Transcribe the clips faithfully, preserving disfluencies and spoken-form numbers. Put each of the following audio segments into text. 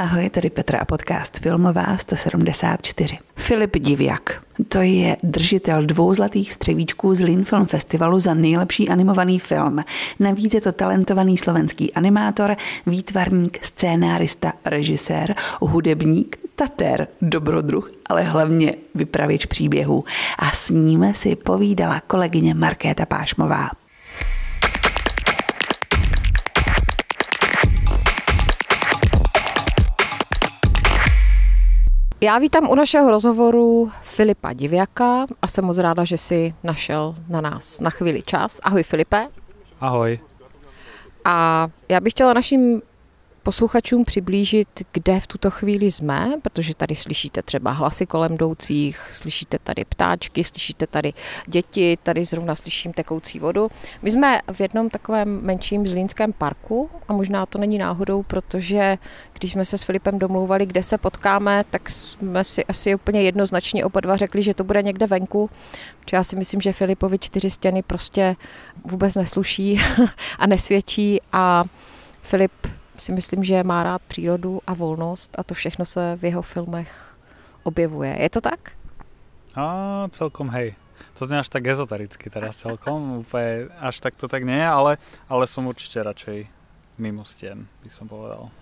Ahoj, tady Petra a podcast Filmová sto sedmdesát čtyři. Filip Diviak. To je držitel dvou zlatých střevíčků z Lille Film Festivalu za nejlepší animovaný film. Navíc je to talentovaný slovenský animátor, výtvarník, scénárista, režisér, hudebník, tatér, dobrodruh, ale hlavně vypravěč příběhů. A s ním si povídala kolegyně Markéta Pášmová. Já vítám u našeho rozhovoru Filipa Diviaka a jsem moc ráda, že jsi našel na nás na chvíli čas. Ahoj Filipe. Ahoj. A já bych chtěla našim posluchačům přiblížit, kde v tuto chvíli jsme, protože tady slyšíte třeba hlasy kolem jdoucích, slyšíte tady ptáčky, slyšíte tady děti, tady zrovna slyším tekoucí vodu. My jsme v jednom takovém menším zlínském parku a možná to není náhodou, protože když jsme se s Filipem domlouvali, kde se potkáme, tak jsme si asi úplně jednoznačně oba dva řekli, že to bude někde venku. Protože já si myslím, že Filipovi čtyři stěny prostě vůbec nesluší a nesvědčí a Filip si myslím, že má rád přírodu a volnost a to všechno se v jeho filmech objevuje. Je to tak? A celkom hej. To znie až tak ezotericky teraz celkom, úplne až tak to tak nie je, ale, ale som určite radšej mimo stien, by som povedal.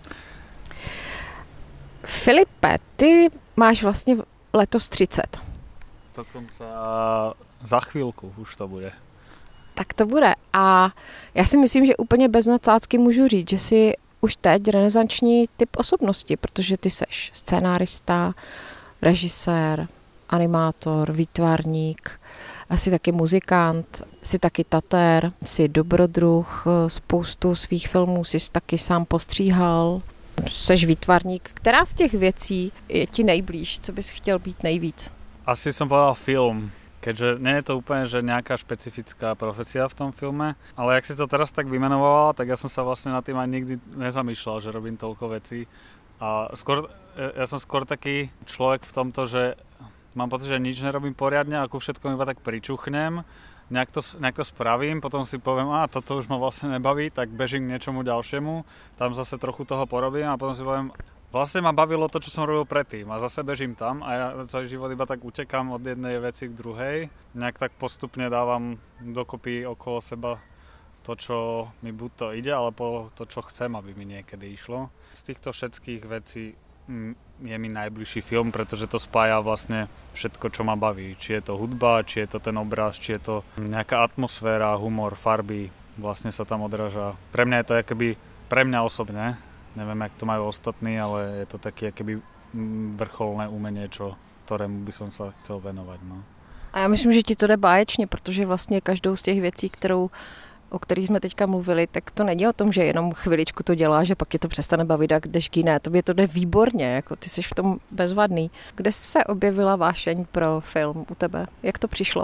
Filipe, ty máš vlastně letos třicet. Dokonca za chvíľku už to bude. Tak to bude. A já si myslím, že úplně bez nadsázky můžu říct, že si už teď renesanční typ osobnosti, protože ty seš scénárista, režisér, animátor, výtvarník, jsi taky muzikant, jsi taky tatér, jsi dobrodruh, spoustu svých filmů jsi taky sám postříhal, seš výtvarník. Která z těch věcí je ti nejblíž? Co bys chtěl být nejvíc? Asi som povedal film. Keďže nie je to úplne, že nejaká špecifická profesia v tom filme, ale jak si to teraz tak vymenovala, tak ja som sa vlastne nad tým aj nikdy nezamýšľal, že robím toľko vecí. A skôr, ja som skôr taký človek v tomto, že mám pocit, že nič nerobím poriadne a ku všetkom iba tak pričuchnem, nejak to, nejak to spravím, potom si poviem, a toto už ma vlastne nebaví, tak bežím k niečomu ďalšiemu, tam zase trochu toho porobím a potom si poviem, vlastne ma bavilo to, čo som robil predtým a zase bežím tam a ja celý život iba tak utekám od jednej veci k druhej. Nejak tak postupne dávam dokopy okolo seba to, čo mi buď to ide, alebo to, čo chcem, aby mi niekedy išlo. Z týchto všetkých vecí je mi najbližší film, pretože to spája vlastne všetko, čo ma baví. Či je to hudba, či je to ten obraz, či je to nejaká atmosféra, humor, farby, vlastne sa tam odráža. Pre mňa je to akoby, pre mňa osobne, neviem, jak to majú ostatní, ale je to také akoby vrcholné umenie, čo, ktorému by som sa chcel venovať. No. A já myslím, že ti to jde báječně, protože vlastně každou z těch věcí, kterou, o kterých jsme teďka mluvili, tak to není o tom, že jenom chviličku to děláš a pak je to přestane bavit a jdeš k jiné. Tobě to jde výborně, jako ty jsi v tom bezvadný. Kde se objevila vášeň pro film u tebe? Jak to přišlo?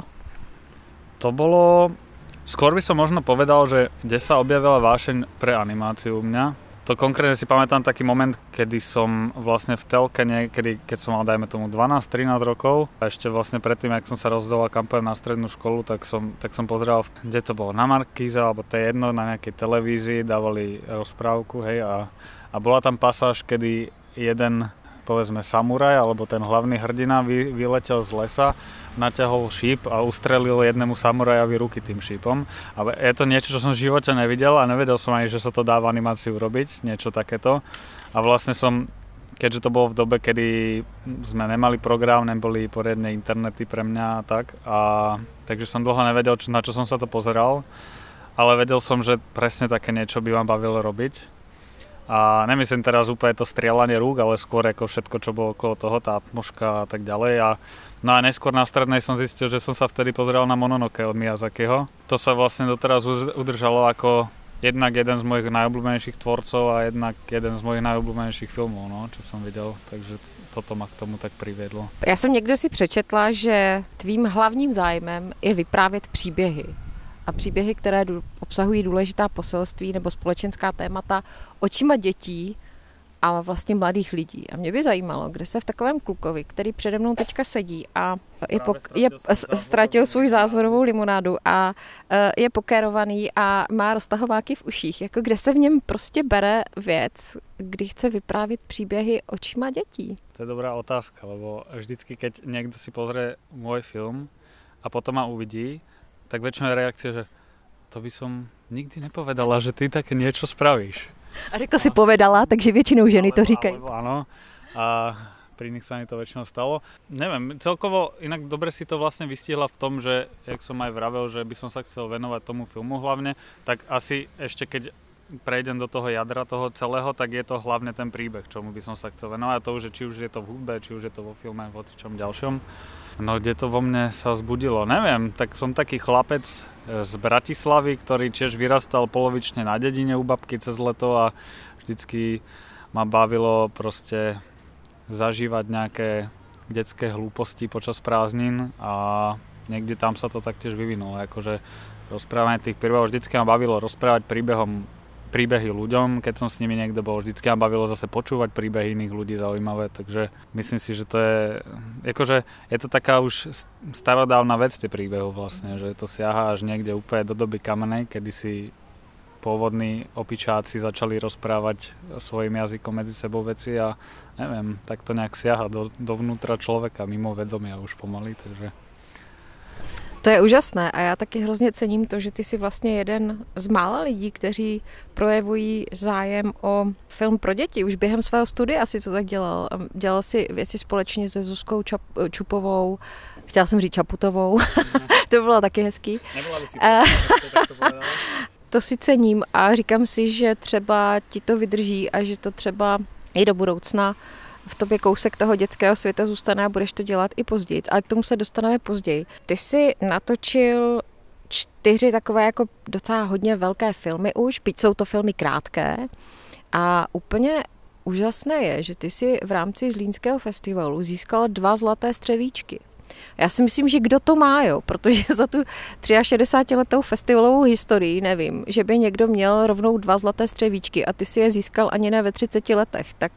To bolo... Skôr by som možno povedal, že kde sa objavila vášeň pre animáciu u mňa. To konkrétne si pamätám taký moment, kedy som vlastne v telke niekedy, keď som mal, dajme tomu, dvanásť trinásť rokov. A ešte vlastne predtým, jak som sa rozhodoval, kam pôjdem na strednú školu, tak som, tak som pozeral, kde to bolo, na Markíze, alebo to je jedno, na nejakej televízii, dávali rozprávku, hej, a, a bola tam pasáž, kedy jeden, povedzme, samuraj, alebo ten hlavný hrdina vy, vyletel z lesa, naťahol šíp a ustrelil jednému samurajovi ruky tým šípom. Ale je to niečo, čo som v živote nevidel a nevedel som ani, že sa to dá v animácii urobiť, niečo takéto. A vlastne som, keďže to bolo v dobe, kedy sme nemali program, neboli poriadne internety pre mňa a tak, a takže som dlho nevedel, čo, na čo som sa to pozeral, ale vedel som, že presne také niečo by ma bavilo robiť. A nemyslím teraz úplne to strieľanie rúk, ale skôr ako všetko, čo bolo okolo toho, tá atmoška a tak ďalej. A, no a neskôr na strednej som zistil, že som sa vtedy pozeral na Mononoke od Miyazakiho. To sa vlastne doteraz udržalo ako jednak jeden z mojich najobľúbenejších tvorcov a jednak jeden z mojich najobľúbenejších filmov, no, čo som videl. Takže toto ma k tomu tak priviedlo. Já jsem někde si přečetla, že tvým hlavním zájmem je vyprávět příběhy. A příběhy, které obsahují důležitá poselství nebo společenská témata očima dětí a vlastně mladých lidí. A mě by zajímalo, kde se v takovém klukovi, který přede mnou teďka sedí a je, pok- je ztratil svůj zázvorovou limonádu a je pokérovaný a má roztahováky v uších, jako kde se v něm prostě bere věc, kdy chce vyprávět příběhy očima dětí. To je dobrá otázka, lebo vždycky, keď niekto si pozrie môj film a potom ma uvidí, tak väčšinou je reakcia, že to by som nikdy nepovedala, že ty také niečo spravíš. A řekl si povedala, takže většinou ženy to říkají. Alebo áno. A pri nich sa mi to väčšinou stalo. Neviem, celkovo inak dobre si to vlastne vystihla v tom, že, jak som aj vravel, že by som sa chcel venovať tomu filmu hlavne, tak asi ešte keď prejdem do toho jadra toho celého, tak je to hlavne ten príbeh, čomu by som sa chcel venovať. To už je, či už je to v hudbe, či už je to vo filme, vo čom ďalšom. No, kde to vo mne sa vzbudilo? Neviem, tak som taký chlapec z Bratislavy, ktorý tiež vyrastal polovične na dedine u babky cez leto a vždycky ma bavilo proste zažívať nejaké detské hlúposti počas prázdnin a niekde tam sa to taktiež vyvinulo. Akože rozprávanie tých príbehov vždycky ma bavilo rozprávať príbehom príbehy ľuďom, keď som s nimi niekde bol. Vždycky ma bavilo zase počúvať príbehy iných ľudí zaujímavé, takže myslím si, že to je, akože je to taká už starodávna vec tie príbehy vlastne, že to siaha až niekde úplne do doby kamenej, kedy si pôvodní opičáci začali rozprávať svojim jazykom medzi sebou veci a neviem, tak to nejak siaha do, dovnútra človeka, mimo vedomia už pomaly, takže... To je úžasné a já taky hrozně cením to, že ty jsi vlastně jeden z mála lidí, kteří projevují zájem o film pro děti. Už během svého studia si to tak dělal. Dělal si věci společně se Zuzkou Čap- Čupovou, chtěla jsem říct Čaputovou, to bylo taky hezký. Nebyla by si to, to, to si cením a říkám si, že třeba ti to vydrží a že to třeba i do budoucna v tobě kousek toho dětského světa zůstane a budeš to dělat i později, ale k tomu se dostaneme později. Ty jsi natočil čtyři takové jako docela hodně velké filmy už, byť jsou to filmy krátké a úplně úžasné je, že ty jsi v rámci Zlínského festivalu získal dva zlaté střevíčky. Já si myslím, že kdo to má, jo, protože za tu šedesátiletou festivalovou historii nevím, že by někdo měl rovnou dva zlaté střevíčky a ty si je získal ani ne ve třiceti letech, tak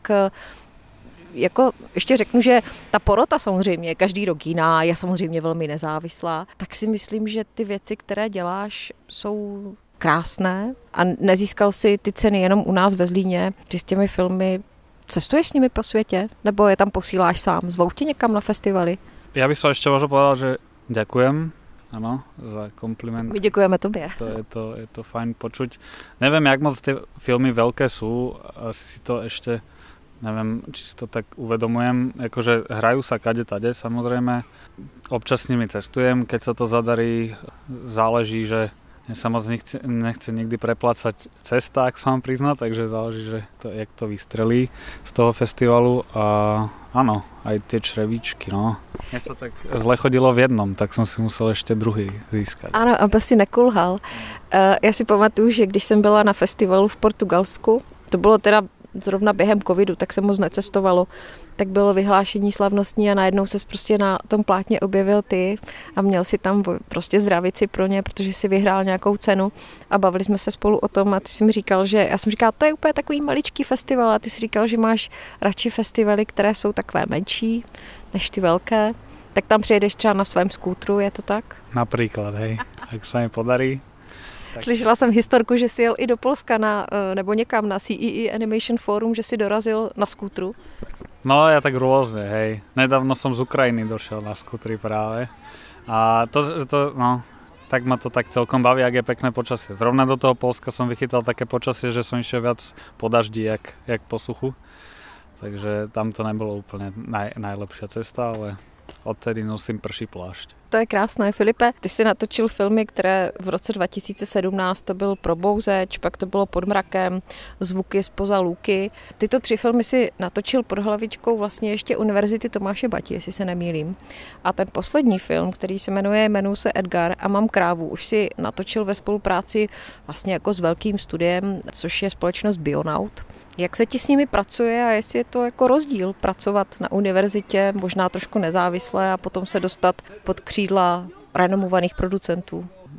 jako ještě řeknu, že ta porota samozřejmě je každý rok jiná, je samozřejmě velmi nezávislá, tak si myslím, že ty věci, které děláš, jsou krásné a nezískal si ty ceny jenom u nás ve Zlíně. Ty s těmi filmy cestuješ s nimi po světě? Nebo je tam posíláš sám? Zvou tě někam na festivaly? Ja by som ešte možno povedal, že ďakujem, áno, za kompliment. My děkujeme tobě. To je to, je to fajn počuť. Neviem, jak moc tie filmy veľké sú, asi si to ešte neviem, či si to tak uvedomujem, akože hrajú sa kade tade, samozrejme. Občas s nimi cestujem, keď sa to zadarí, záleží, že mne sa moc nechce, nechce nikdy preplácať cesta, ak sa mám priznať, takže záleží, že to, jak to vystrelí z toho festivalu a áno, aj tie črevíčky, no. Mne sa tak zle chodilo v jednom, tak som si musel ešte druhý získať. Ano, aby si nekulhal. Uh, já si pamatuju, že když jsem byla na festivalu v Portugalsku, to bylo teda zrovna během covidu, tak se moc necestovalo, tak bylo vyhlášení slavnostní a najednou ses prostě na tom plátně objevil ty a měl si tam prostě zdravici pro ně, protože si vyhrál nějakou cenu a bavili jsme se spolu o tom a ty jsi mi říkal, že já jsem říkala, to je úplně takový maličký festival a ty jsi říkal, že máš radši festivaly, které jsou takové menší než ty velké, tak tam přijedeš třeba na svém skútru, je to tak? Například, hej, ak sa mi podarí. Tak. Slyšela jsem historku, že jsi jel i do Polska na, nebo někam na C E E Animation Forum, že si dorazil na skútru. No ja tak rôzne, hej. Nedávno som z Ukrajiny došiel na skútri práve. A to, to, no, tak ma to tak celkom baví, ak je pekné počasie. Zrovna do toho Polska som vychytal také počasie, že som išiel viac po daždi, jak, jak po suchu. Takže tam to nebolo úplne naj, najlepšia cesta, ale odtedy nosím prší plášť. To je krásné. Filipe, ty jsi natočil filmy, které v roce dva tisíce sedmnáct to byl Probouzeč, pak to bylo Pod mrakem, Zvuky zpoza Lůky. Tyto tři filmy si natočil pod hlavičkou vlastně ještě Univerzity Tomáše Bati, jestli se nemýlím. A ten poslední film, který se jmenuje Jmenuji se Edgar a mám krávu, už si natočil ve spolupráci vlastně jako s velkým studiem, což je společnost Bionaut. Jak se ti s nimi pracuje a jestli je to jako rozdíl pracovat na univerzitě, možná trošku nezávisle a potom se dostat pod křídla renomovaných producentů?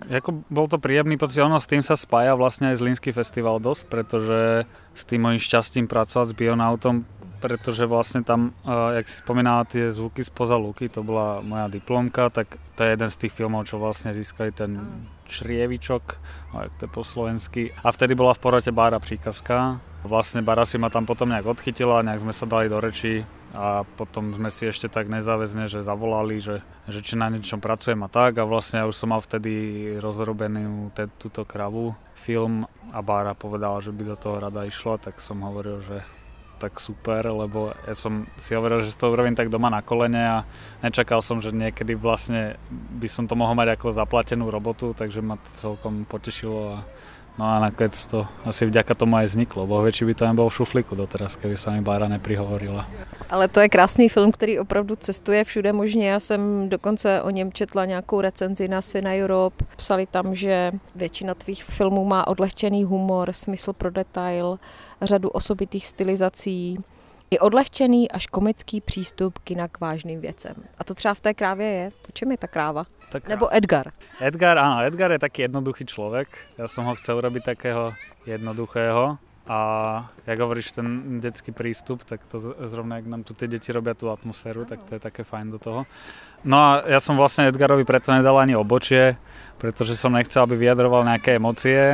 Jako bol to príjemný pocit, ono s tým sa spája vlastne aj Zlínský festival dosť, pretože s tým mojím šťastím pracovať s Bionautom, pretože vlastne tam, jak si spomínala tie zvuky spoza luky, to bola moja diplomka, tak to je jeden z tých filmov, čo vlastne získali ten črievičok, jak to je po slovensky. A vtedy bola v porote Bára Příkazka. Vlastne Bára si ma tam potom nejak odchytila, nejak sme sa dali do rečí a potom sme si ešte tak nezáväzne, že zavolali, že, že či na niečom pracujem a tak. A vlastne ja už som mal vtedy rozrobenú te, túto kravu film a Bára povedala, že by do toho rada išla, tak som hovoril, že tak super, lebo ja som si hovoril, že to urobím tak doma na kolene a nečakal som, že niekedy vlastne by som to mohol mať ako zaplatenú robotu, takže ma to celkom potešilo a no a nakoniec to asi vďaka tomu aj vzniklo. Boh vie, či by to nebolo v šuflíku doteraz, keby sa mi Bára neprihovorila. Ale to je krásný film, který opravdu cestuje všude možně. Já jsem dokonce o něm četla nějakou recenzi na Cine Europe. Psali tam, že většina tvých filmů má odlehčený humor, smysl pro detail, řadu osobitých stylizací, i odlehčený až komický přístup kina k vážným věcem. A to třeba v té krávě je. O čem je ta kráva? Tak, nebo Edgar? Edgar, áno, Edgar je taký jednoduchý človek. Ja som ho chcel robiť takého jednoduchého. A jak hovoríš, ten detský prístup, tak to zrovna, jak nám tu tie deti robia tú atmosféru, tak to je také fajn do toho. No a ja som vlastne Edgarovi preto nedal ani obočie, pretože som nechcel, aby vyjadroval nejaké emócie.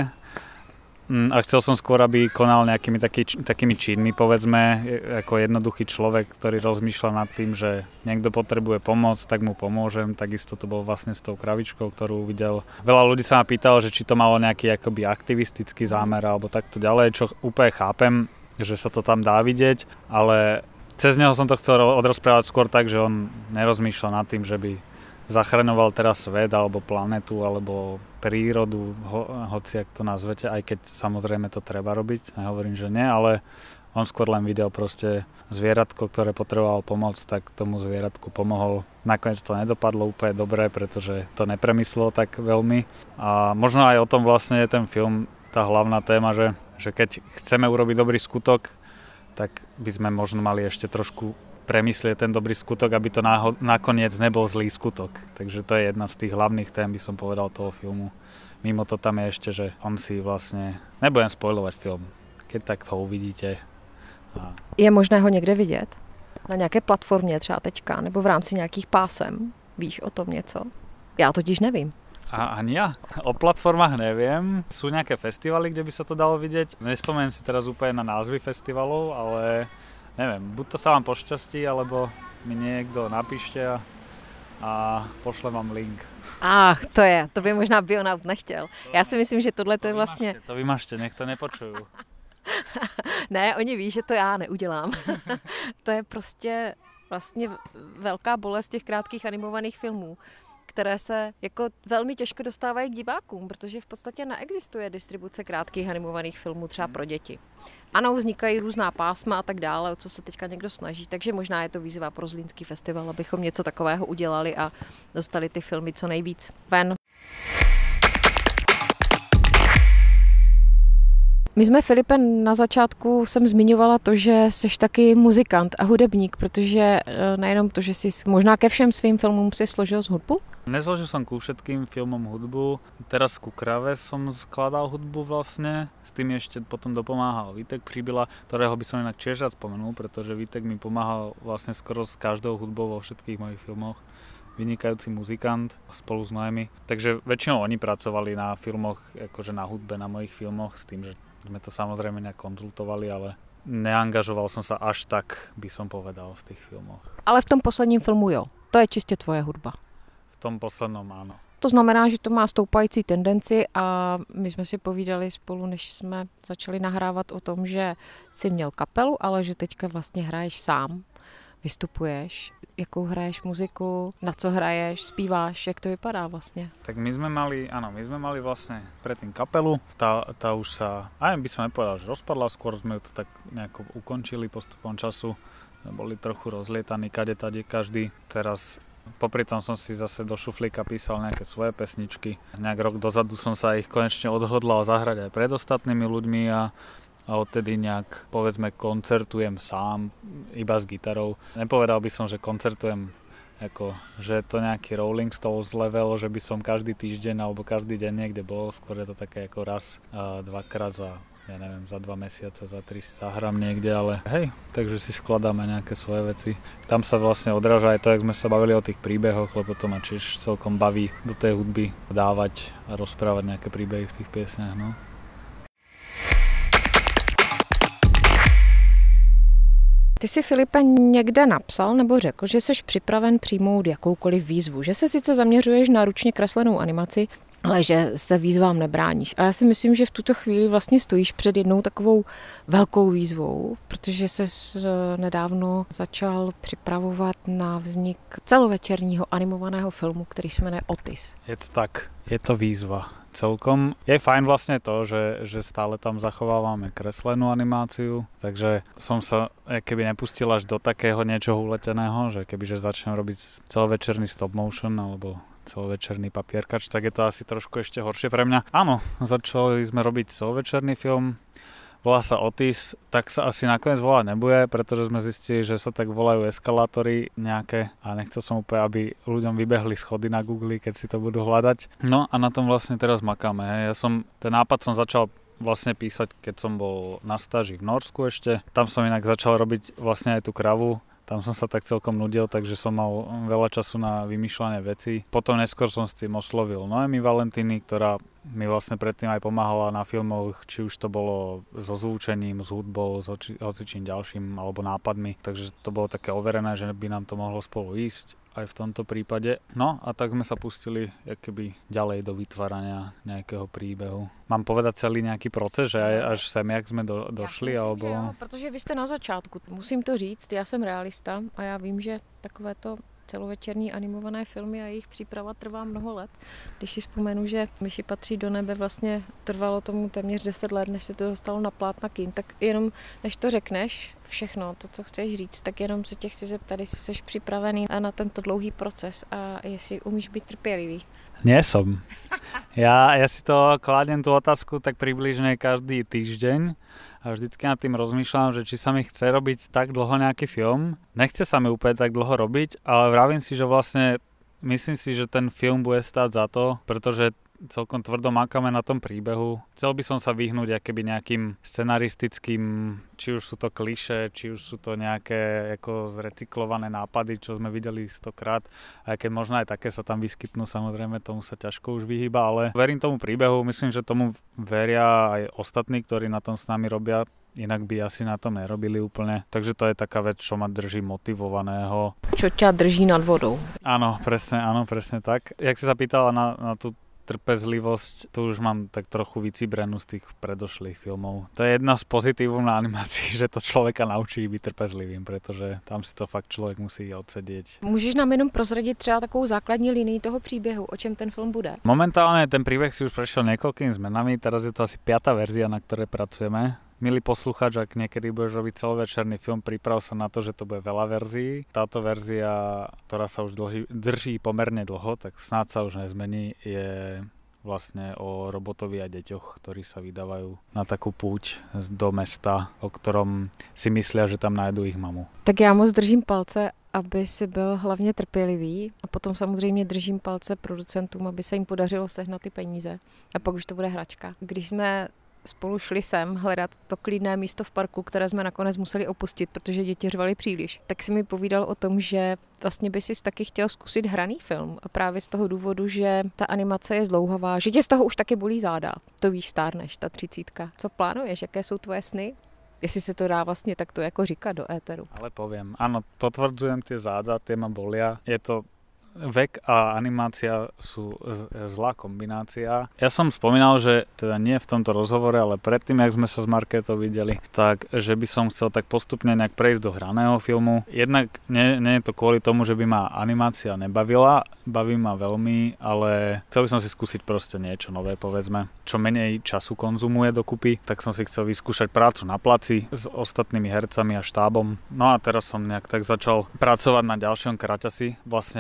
A chcel som skôr, aby konal nejakými taký, takými činmi, povedzme, ako jednoduchý človek, ktorý rozmýšľa nad tým, že niekto potrebuje pomoc, tak mu pomôžem. Takisto to bol vlastne s tou kravičkou, ktorú videl. Veľa ľudí sa ma pýtalo, že či to malo nejaký akoby aktivistický zámer alebo takto ďalej, čo úplne chápem, že sa to tam dá vidieť, ale cez neho som to chcel odrozprávať skôr tak, že on nerozmýšľa nad tým, že by zachraňoval teraz svet alebo planetu alebo prírodu, ho, hoci ak to nazvete, aj keď samozrejme to treba robiť, nehovorím, že nie, ale on skôr len videl proste zvieratko, ktoré potrebovalo pomoc, tak tomu zvieratku pomohol. Nakoniec to nedopadlo úplne dobre, pretože to nepremyslelo tak veľmi. A možno aj o tom vlastne je ten film, tá hlavná téma, že, že keď chceme urobiť dobrý skutok, tak by sme možno mali ešte trošku premyslieť ten dobrý skutok, aby to náho- nakoniec nebol zlý skutok. Takže to je jedna z tých hlavných tém, by som povedal, toho filmu. Mimo to tam je ešte, že on si vlastne... Nebudem spoilovať film, keď tak to uvidíte. A... Je možné ho někde vidět? Na nějaké platformě třeba teďka, nebo v rámci nějakých pásem? Víš o tom něco? Já totiž nevím. A ani ja. O platformách neviem. Sú nejaké festivaly, kde by sa to dalo vidieť. Nespomeniem si teraz úplne na názvy festivalov, ale... Neviem, buď to sa vám pošťastí, alebo mi niekto napíšte a, a pošlem vám link. Ach, to je, to by možná Bionaut nechtěl. Já si myslím, že tohle to je vlastně... To vymažte, nech to nepočujú. Ne, oni ví, že to já neudělám. To je prostě vlastně velká bolest těch krátkých animovaných filmů, které se jako velmi těžko dostávají k divákům, protože v podstatě neexistuje distribuce krátkých animovaných filmů třeba pro děti. Ano, vznikají různá pásma a tak dále, o co se teďka někdo snaží, takže možná je to výzva pro Zlínský festival, abychom něco takového udělali a dostali ty filmy co nejvíc ven. My jsme, Filipe, na začátku jsem zmiňovala to, že jsi taky muzikant a hudebník, protože nejenom to, že jsi možná ke všem svým filmům si složil z hudbu? Nezložil som ku všetkým filmom hudbu, teraz ku Krave som skladal hudbu vlastne, s tým ešte potom dopomáhal Vítek Príbyla, ktorého by som inak tiež rád spomenul, pretože Vítek mi pomáhal vlastne skoro s každou hudbou vo všetkých mojich filmoch. Vynikajúci muzikant spolu s Noemi. Takže väčšinou oni pracovali na filmoch, akože na hudbe, na mojich filmoch, s tým, že sme to samozrejme nejak konzultovali, ale neangažoval som sa až tak, by som povedal, v tých filmoch. Ale v tom posledním filmu jo, to je čistě tvoje hudba. V tom poslednom áno. To znamená, že to má stoupající tendenci a my jsme si povídali spolu, než jsme začali nahrávat o tom, že jsi měl kapelu, ale že teďka vlastně hraješ sám, vystupuješ, jakou hraješ muziku, na co hraješ, zpíváš, jak to vypadá vlastně? Tak my sme mali, áno, my sme mali vlastne predtým kapelu, tá, tá už sa, aj by som nepovedal, že rozpadla, skôr sme ju to tak nejako ukončili postupom času, boli trochu rozlietaní, kade tade každý, teraz popri tom som si zase do šuflíka písal nejaké svoje pesničky. Nejak rok dozadu som sa ich konečne odhodlal zahrať aj pred ostatnými ľuďmi a, a odtedy nejak, povedzme, koncertujem sám, iba s gitarou. Nepovedal by som, že koncertujem Ako, že je to nejaký Rolling Stones level, že by som každý týždeň alebo každý deň niekde bol, skôr je to také ako raz, a dvakrát za, ja neviem, za dva mesiace, za tri si zahrám niekde, ale hej, takže si skladáme nejaké svoje veci. Tam sa vlastne odráža aj to, jak sme sa bavili o tých príbehoch, lebo to ma tiež celkom baví do tej hudby dávať a rozprávať nejaké príbehy v tých piesniach, no. Ty jsi, Filipe, někde napsal nebo řekl, že jsi připraven přijmout jakoukoliv výzvu, že se sice zaměřuješ na ručně kreslenou animaci, ale že se výzvám nebráníš. A já si myslím, že v tuto chvíli vlastně stojíš před jednou takovou velkou výzvou, protože ses nedávno začal připravovat na vznik celovečerního animovaného filmu, který se jmenuje Otis. Je to tak, je to výzva. Celkom je fajn vlastne to, že, že stále tam zachovávame kreslenú animáciu, takže som sa keby nepustil až do takého niečoho uleteného, že kebyže začnem robiť celovečerný stop motion alebo celovečerný papierkač, tak je to asi trošku ešte horšie pre mňa. Áno, začali sme robiť celovečerný film, volá sa Otis, tak sa asi nakoniec volať nebude, pretože sme zistili, že sa tak volajú eskalátory nejaké a nechcel som úplne, aby ľuďom vybehli schody na Google, keď si to budú hľadať. No a na tom vlastne teraz makáme. Hej. Ja som, ten nápad som začal vlastne písať, keď som bol na stáži v Norsku ešte. Tam som inak začal robiť vlastne aj tú kravu. Tam som sa tak celkom nudil, takže som mal veľa času na vymýšľanie vecí. Potom neskôr som s tým oslovil Noemi Valentíny, ktorá mi vlastne predtým aj pomáhala na filmoch, či už to bolo so zvučením, s hudbou, s hocičím ďalším alebo nápadmi. Takže to bolo také overené, že by nám to mohlo spolu ísť aj v tomto prípade. No a tak sme sa pustili keby ďalej do vytvárania nejakého príbehu. Mám povedať celý nejaký proces, že aj až sem, jak sme do, došli? Já alebo... myslím, jo, protože vy jste na začátku. Musím to říct, já jsem realista a já vím, že takovéto celovečerní animované filmy a jejich příprava trvá mnoho let. Když si vzpomenu, že Myši patří do nebe vlastně trvalo tomu téměř deset let, než se to dostalo na plátna kin, tak jenom než to řekneš, všechno, to, co chceš říct, tak jenom se tě chci zeptat, jestli jsi připravený na tento dlouhý proces a jestli umíš být trpělivý. Nie som. Ja, ja si to kladiem tú otázku tak približne každý týždeň a vždycky nad tým rozmýšľam, že či sa mi chce robiť tak dlho nejaký film. Nechce sa mi úplne tak dlho robiť, ale vravím si, že vlastne myslím si, že ten film bude stáť za to, pretože celkom tvrdo makáme na tom príbehu. Chcel by som sa vyhnúť akéby nejakým scenaristickým, či už sú to klišé, či už sú to nejaké ako zrecyklované nápady, čo sme videli stokrát. Aj keď možno aj také sa tam vyskytnú, samozrejme tomu sa ťažko už vyhýba, ale verím tomu príbehu, myslím, že tomu veria aj ostatní, ktorí na tom s nami robia. Inak by asi na tom nerobili úplne. Takže to je taká vec, čo ma drží motivovaného. Čo ťa drží nad vodou. Áno, presne, áno, presne tak. Jak si sa pýtala na, na tú trpezlivosť, tu už mám tak trochu vycibrenú z tých predošlých filmov. To je jedna z pozitívov na animácii, že to človeka naučí byť trpezlivým, pretože tam si to fakt člověk musí odsedieť. Můžeš nám jenom prozradit třeba takovou základní linii toho příběhu, o čem ten film bude? Momentálne ten príbeh si už prešiel niekoľkými zmenami, teraz je to asi piata verzia, na ktorej pracujeme. Milý posluchač, ak niekedy budeš robiť celovečerný film, priprav sa na to, že to bude veľa verzií. Táto verzia, ktorá sa už dlhý, drží pomerne dlho, tak snáď sa už nezmení, je vlastne o robotovi a deťoch, ktorí sa vydávajú na takú púť do mesta, o ktorom si myslia, že tam nájdu ich mamu. Tak já moc držím palce, aby si byl hlavně trpělivý a potom samozřejmě držím palce producentům, aby se jim podařilo sehnat ty peníze a pak už to bude hračka. Když jsme spolu šli sem hledat to klidné místo v parku, které jsme nakonec museli opustit, protože děti řvaly příliš, tak si mi povídal o tom, že vlastně by si taky chtěl zkusit hraný film a právě z toho důvodu, že ta animace je zdlouhavá, že tě z toho už taky bolí záda. To víš, stárneš, ta třicítka. Co plánuješ, jaké jsou tvoje sny? Jestli se to dá vlastně takto jako říkat do éteru. Ale poviem, áno, potvrdzujem tie záda, tie ma bolia. Je to vek a animácia sú zlá kombinácia. Ja som spomínal, že teda nie v tomto rozhovore, ale predtým, jak sme sa s Markétou videli, tak že by som chcel tak postupne nejak prejsť do hraného filmu. Jednak nie, nie je to kvôli tomu, že by ma animácia nebavila, baví ma veľmi, ale chcel by som si skúsiť proste niečo nové, povedzme, čo menej času konzumuje dokupy, tak som si chcel vyskúšať prácu na placi s ostatnými hercami a štábom. No a teraz som nejak tak začal pracovať na ďalšom kraťasi, vlastne popri tom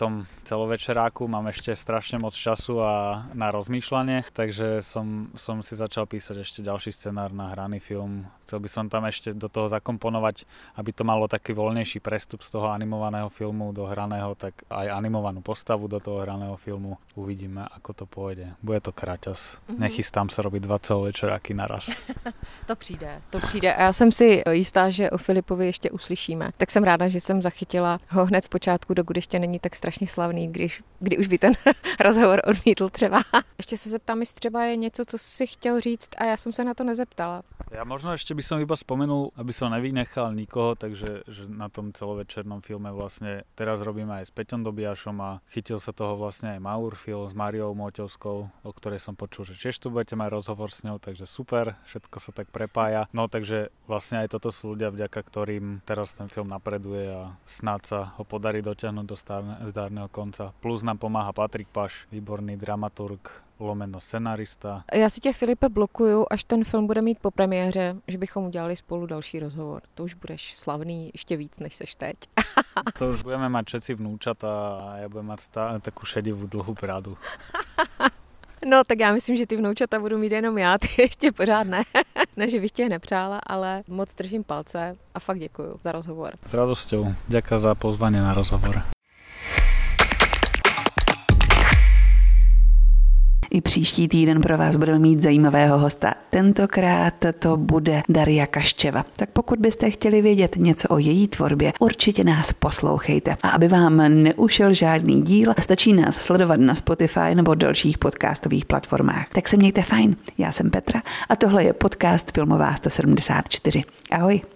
tom celovečeráku, mám ešte strašne moc času a na rozmýšľanie, takže som, som si začal písať ešte ďalší scenár na hraný film. Chcel by som tam ešte do toho zakomponovať, aby to malo taký voľnejší prestup z toho animovaného filmu do hraného, tak aj animovanú postavu do toho hraného filmu. Uvidíme, ako to pôjde. Bude to kraťas. Mm-hmm. Nechystám sa robiť dva celovečeráky naraz. To přijde, to přijde. A já jsem si jistá, že o Filipovi ještě uslyšíme. Tak jsem ráda, že jsem zachytila ho hned v počátku, dokud ještě není tak strašně slavný, když, kdy už by ten rozhovor odmítl třeba. Ještě se zeptám, jestli třeba je něco, co si chtěl říct a já jsem se na to nezeptala. Ja možno ešte by som iba spomenul, aby som nevynechal nikoho, takže že na tom celovečernom filme vlastne teraz robíme aj s Peťom Dobiašom a chytil sa toho vlastne aj Maurfil s Máriou Móťovskou, o ktorej som počul, že tiež tu budete mať rozhovor s ňou, takže super, všetko sa tak prepája. No takže vlastne aj toto sú ľudia, vďaka ktorým teraz ten film napreduje a snáď sa ho podarí dotiahnuť do zdárneho konca. Plus nám pomáha Patrik Paš, výborný dramaturg, lomeno scenarista. Já si tě, Filipe, blokuju, až ten film bude mít po premiéře, že bychom udělali spolu další rozhovor. To už budeš slavný ještě víc, než seš teď. To už budeme mať všetci vnúčata a ja budem mať stále takú šedivú dlhú bradu. No, tak já myslím, že ty vnoučata budu mít jenom já, ty ještě pořád ne. Ne, že bych tě nepřála, ale moc držím palce a fakt děkuju za rozhovor. S radosťou. Ďakujem za pozvanie na rozhovor. I příští týden pro vás budeme mít zajímavého hosta. Tentokrát to bude Daria Kaščeva. Tak pokud byste chtěli vědět něco o její tvorbě, určitě nás poslouchejte. A aby vám neušel žádný díl, stačí nás sledovat na Spotify nebo dalších podcastových platformách. Tak se mějte fajn. Já jsem Petra a tohle je podcast Filmová sto sedmdesát čtyři. Ahoj.